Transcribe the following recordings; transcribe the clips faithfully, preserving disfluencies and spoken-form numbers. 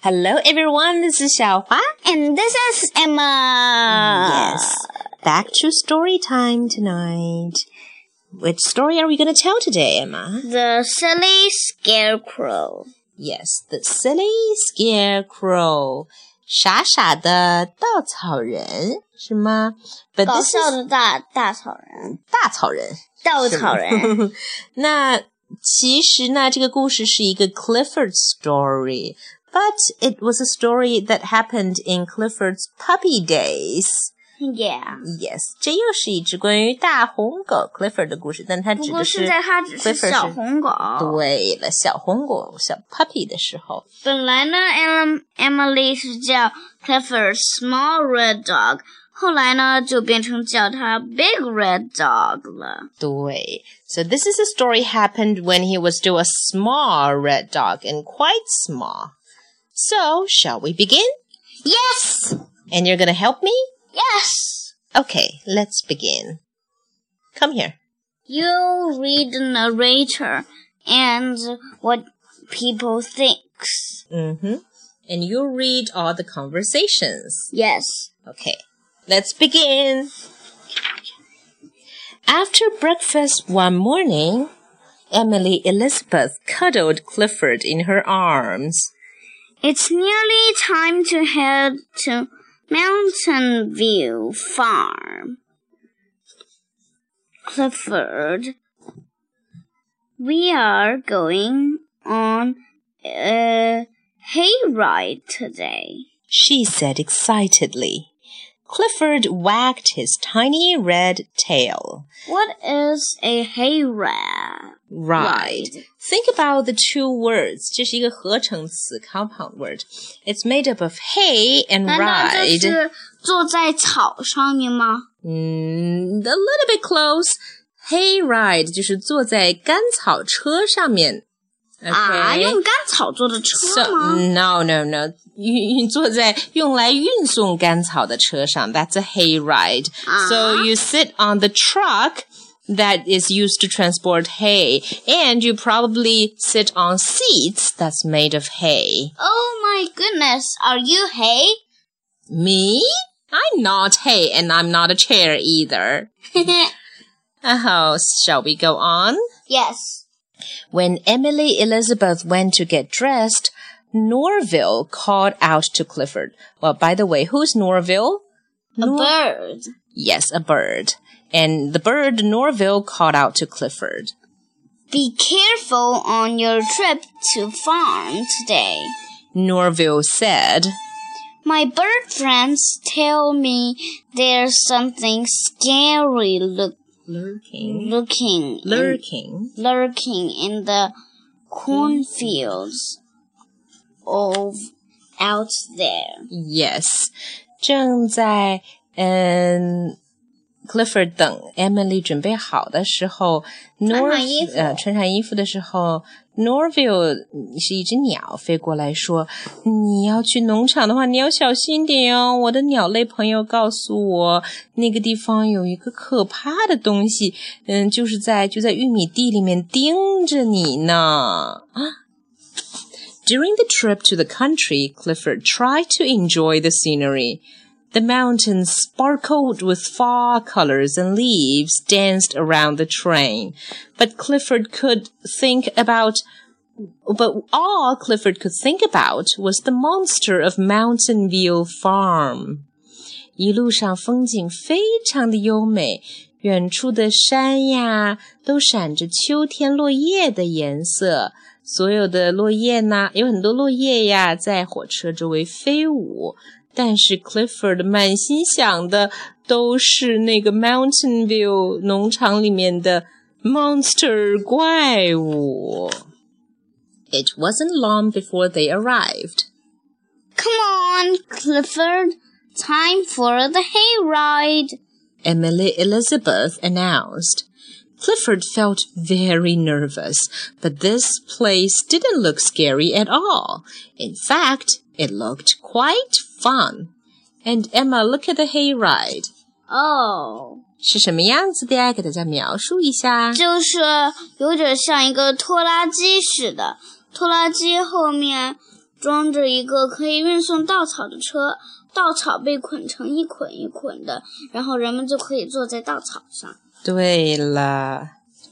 Hello everyone, this is 小华 And this is Emma. Yes, back to story time tonight. Which story are we going to tell today, Emma? The Silly Scarecrow. Yes, The Silly Scarecrow. 傻傻的稻草人是吗？ But 搞 this 笑 is 的大大草人， 大草人， 稻草人。 那其实呢，这个故事是一个 Clifford story, but it was a story that happened in Clifford's puppy days. Yeah. Yes, 这又是一只关于大红狗 Clifford 的故事，但它指的是不过现在它只是 Clifford 小红狗。 对了，小红狗小 puppy 的时候。 本来呢 ，Em Emily 是叫 Clifford Small Red Dog， 后来呢就变成叫它 Big Red Dog 了。 对 ，So this is a story happened when he was still a small red dog and quite small. So, shall we begin? Yes. And you're gonna help me? Yes. Okay, let's begin. Come here. You read the narrator and what people thinks. Mm-hmm. And you read all the conversations. Yes. Okay, let's begin. After breakfast one morning, Emily Elizabeth cuddled Clifford in her arms. It's nearly time to head to Mountain View Farm. Clifford, we are going on a hayride today, She said excitedly. Clifford wagged his tiny red tail. What is a hayride? Ride. Think about the two words. 这是一个合成词 compound word. It's made up of hay and 难道这 ride. 是坐在草上面吗？ Mm, a little bit close. Hay ride 就是坐在干草车上面。Okay. 啊，用干草做的车 So, 吗？ no, no, no. 你坐在用来运送干草的车上 That's a hay ride. Ah. So you sit on the truck that is used to transport hay, and you probably sit on seats that's made of hay. Oh my goodness, are you hay? Me? I'm not hay, and I'm not a chair either. Oh, shall we go on? Yes. When Emily Elizabeth went to get dressed, Norville called out to Clifford. Well, by the way, who's Norville? A Nor- bird. Yes, a bird. And the bird Norville called out to Clifford. Be careful on your trip to farm today. Norville said, My bird friends tell me there's something scary look, lurking, looking, lurking. in, lurking in the cornfields of out there. Yes. 正在嗯 Clifford 等 Emily 准备好的时候 Nor 穿上衣服呃穿上衣服的时候 Norville 是一只鸟飞过来说你要去农场的话你要小心点哦我的鸟类朋友告诉我那个地方有一个可怕的东西嗯就是在就在玉米地里面盯着你呢 During the trip to the country, Clifford tried to enjoy the scenery. The mountains sparkled with fall colors and leaves danced around the train. But Clifford could think about, but all Clifford could think about was the monster of Mountain View Farm. 一路上风景非常的优美，远处的山呀，都闪着秋天落叶的颜色。所有的落叶呢，有很多落叶呀，在火车周围飞舞。但是 Clifford 满心想的都是那个 Mountain View 农场里面的 monster 怪物。It wasn't long before they arrived. Come on, Clifford. Time for the hayride. Emily Elizabeth announced. Clifford felt very nervous, but this place didn't look scary at all. In fact, it looked quite fun. And Emma, look at the hayride. Oh. 是什么样子的呀？给大家描述一下。 就是有点像一个拖拉机似的，拖拉机后面装着一个可以运送稻草的车，稻草被捆成一捆一捆的，然后人们就可以坐在稻草上。 对了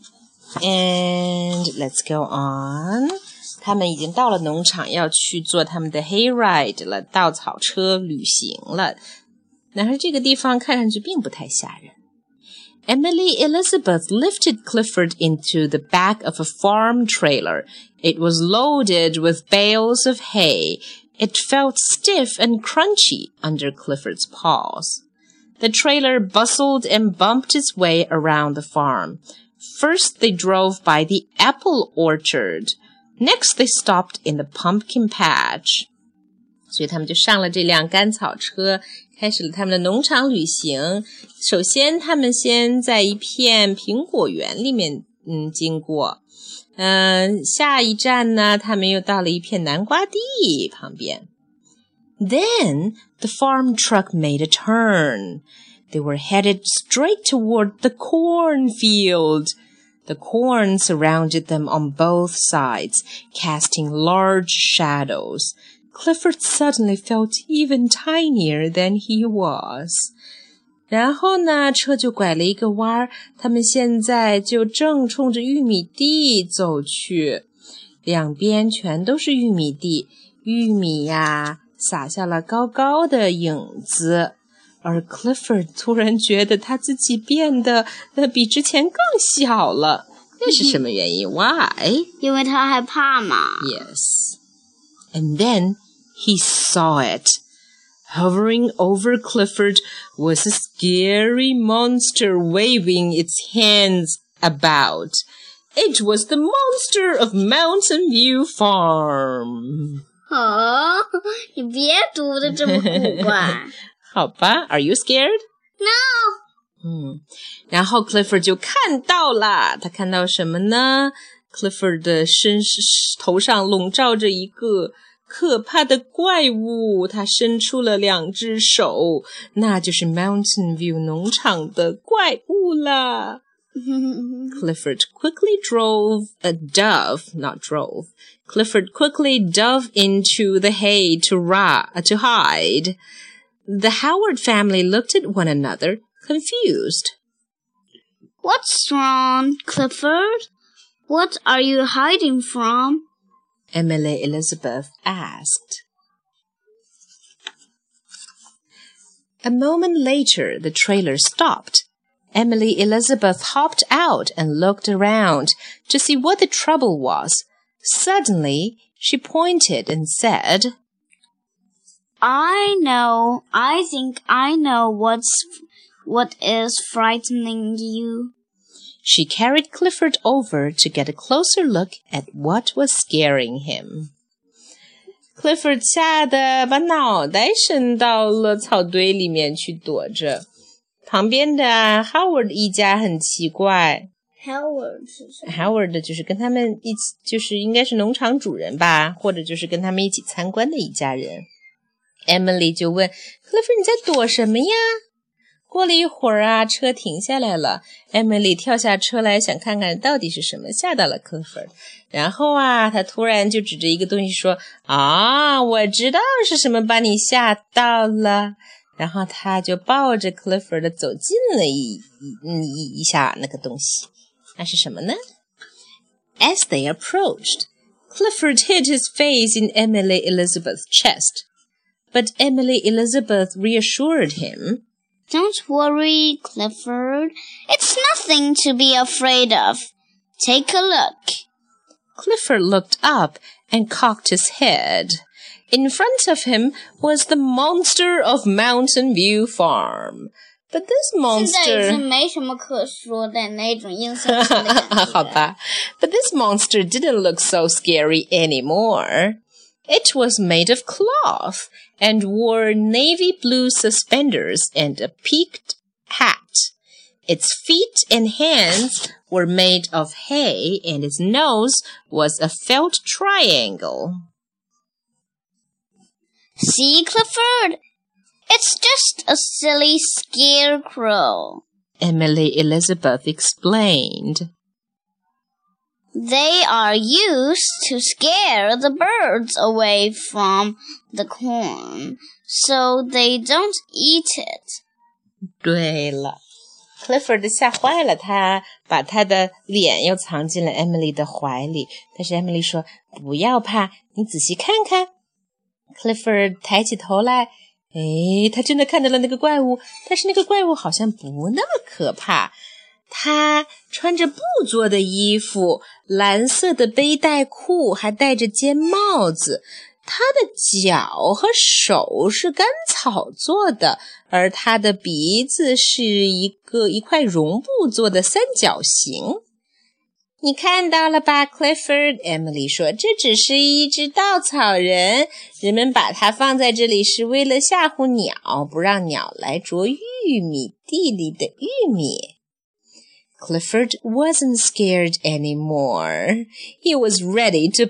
，and let's go on。他们已经到了农场，要去做他们的 hayride 了，稻草车旅行了。但是这个地方看上去并不太吓人。Emily Elizabeth lifted Clifford into the back of a farm trailer. It was loaded with bales of hay. It felt stiff and crunchy under Clifford's paws. The trailer bustled and bumped its way around the farm. First, they drove by the apple orchard. Next, they stopped in the pumpkin patch. 所以他们就上了这辆干草车，开始了他们的农场旅行。首先他们先在一片苹果园里面嗯经过，嗯，下一站呢他们又到了一片南瓜地旁边。Then the farm truck made a turn. They were headed straight toward the cornfield. The corn surrounded them on both sides, casting large shadows. Clifford suddenly felt even tinier than he was. 然后呢，车就拐了一个弯儿，他们现在就正冲着玉米地走去，两边全都是玉米地，玉米呀，洒下了高高的影子。而 Clifford 突然觉得他自己变得呃比之前更小了，这是什么原因 ？Why？ 因为他害怕嘛。 Yes. And then he saw it. Hovering over Clifford was a scary monster waving its hands about. It was the monster of Mountain View Farm. 哦，你别读得这么古怪。 好吧 ，Are you scared? No. 嗯，然后 Clifford 就看到了，他看到什么呢 ？Clifford 的身头上笼罩着一个可怕的怪物，他伸出了两只手，那就是 Mountain View 农场的怪物啦。Clifford quickly drove a dove, not drove. Clifford quickly dove into the hay to, ra- to hide. The Howard family looked at one another, confused. What's wrong, Clifford? What are you hiding from? Emily Elizabeth asked. A moment later, the trailer stopped. Emily Elizabeth hopped out and looked around to see what the trouble was. Suddenly, she pointed and said, I know, I think I know what's, what is frightening you. She carried Clifford over to get a closer look at what was scaring him. Clifford 吓得把脑袋伸到了草堆里面去躲着。旁边的 Howard 一家很奇怪。 Howard 是什么 Howard 就是跟他们一起，就是应该是农场主人吧，或者就是跟他们一起参观的一家人。Emily 就问 Clifford 你在躲什么呀？过了一会儿啊，车停下来了。Emily 跳下车来，想看看到底是什么吓到了 Clifford。然后啊，她突然就指着一个东西说：“啊，我知道是什么把你吓到了。”然后她就抱着 Clifford 走近了一一一下那个东西。那是什么呢？ As they approached, Clifford hid his face in Emily Elizabeth's chest. But Emily Elizabeth reassured him.Don't worry, Clifford. It's nothing to be afraid of. Take a look. Clifford looked up and cocked his head. In front of him was the monster of Mountain View Farm. But this monster... 现在已经没什么可说的那种阴森森的感觉。 好吧 But this monster didn't look so scary anymore. It was made of cloth and wore navy blue suspenders and a peaked hat. Its feet and hands were made of hay, and its nose was a felt triangle. See, Clifford? It's just a silly scarecrow. Emily Elizabeth explained. They are used to scare the birds away from the corn, so they don't eat it. 对了 Clifford 吓坏了他，把他的脸又藏进了 Emily 的怀里。但是 Emily 说，不要怕，你仔细看看。Clifford 抬起头来，诶，他真的看到了那个怪物，但是那个怪物好像不那么可怕。他穿着布做的衣服，蓝色的背带裤，还戴着尖帽子。他的脚和手是干草做的，而他的鼻子是一个一块绒布做的三角形。你看到了吧 Clifford？ Emily 说，这只是一只稻草人，人们把它放在这里是为了吓唬鸟，不让鸟来啄玉米地里的玉米。Clifford wasn't scared anymore. He was ready to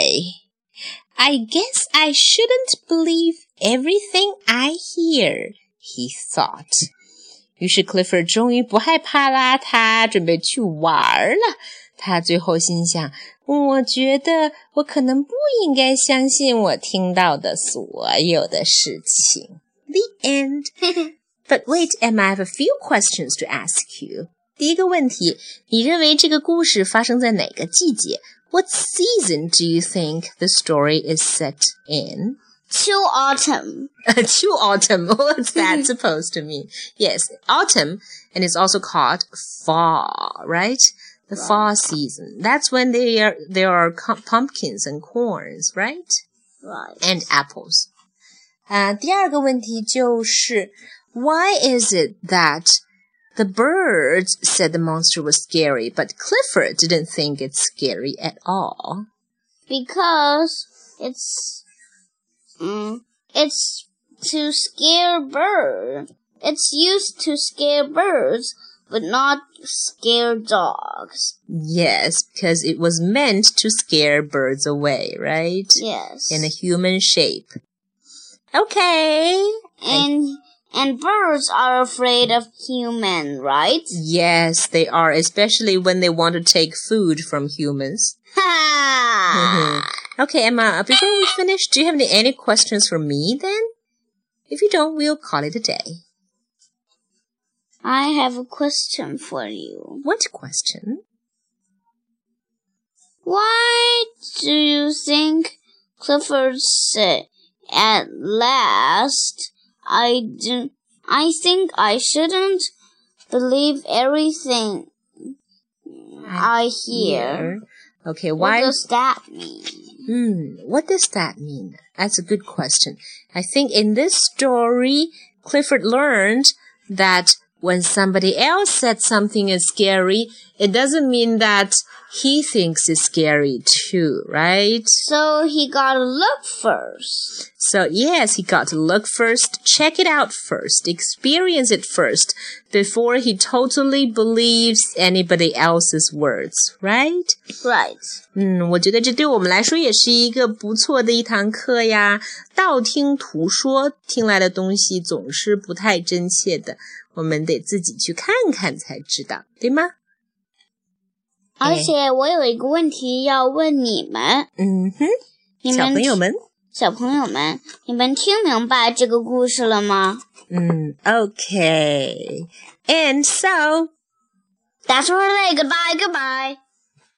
play.I guess I shouldn't believe everything I hear, he thought. 于是 Clifford 终于不害怕啦，他准备去玩了。他最后心想，我觉得我可能不应该相信我听到的所有的事情。The end. But wait, Emma, I have a few questions to ask you. 第一个问题，你认为这个故事发生在哪个季节？What season do you think the story is set in? To autumn. To autumn. What's that supposed to mean? Yes, autumn, and it's also called fall, right? The right. fall season. That's when they are, there are pumpkins and corns, right? Right. And apples. 啊、uh, 第二个问题就是 Why is it that the birds said the monster was scary, but Clifford didn't think it's scary at all? Because it's um, it's to scare birds. It's used to scare birds, but not scare dogs. Yes, because it was meant to scare birds away, right? Yes. In a human shape. Okay. And... And birds are afraid of humans, right? Yes, they are, especially when they want to take food from humans. Ha! Okay, Emma, before we finish, do you have any, any questions for me then? If you don't, we'll call it a day. I have a question for you. What question? Why do you think Clifford said, at last... I do. I think I shouldn't believe everything I, I hear. Okay, why? What does that mean? Hmm, what does that mean? That's a good question. I think in this story, Clifford learned that when somebody else said something is scary, it doesn't mean that he thinks it's scary too, right? So he gotta look first. So yes, he got to look first, check it out first, experience it first, before he totally believes anybody else's words, right? Right. 嗯，我觉得这对我们来说也是一个不错的一堂课呀。道听途说，听来的东西总是不太真切的，我们得自己去看看才知道，对吗？ 而且我有一个问题要问你们。 嗯哼， 你们小朋友们， 小朋友们，你们听明白这个故事了吗？ 嗯 ，Okay. And so, that's for today. Goodbye, goodbye.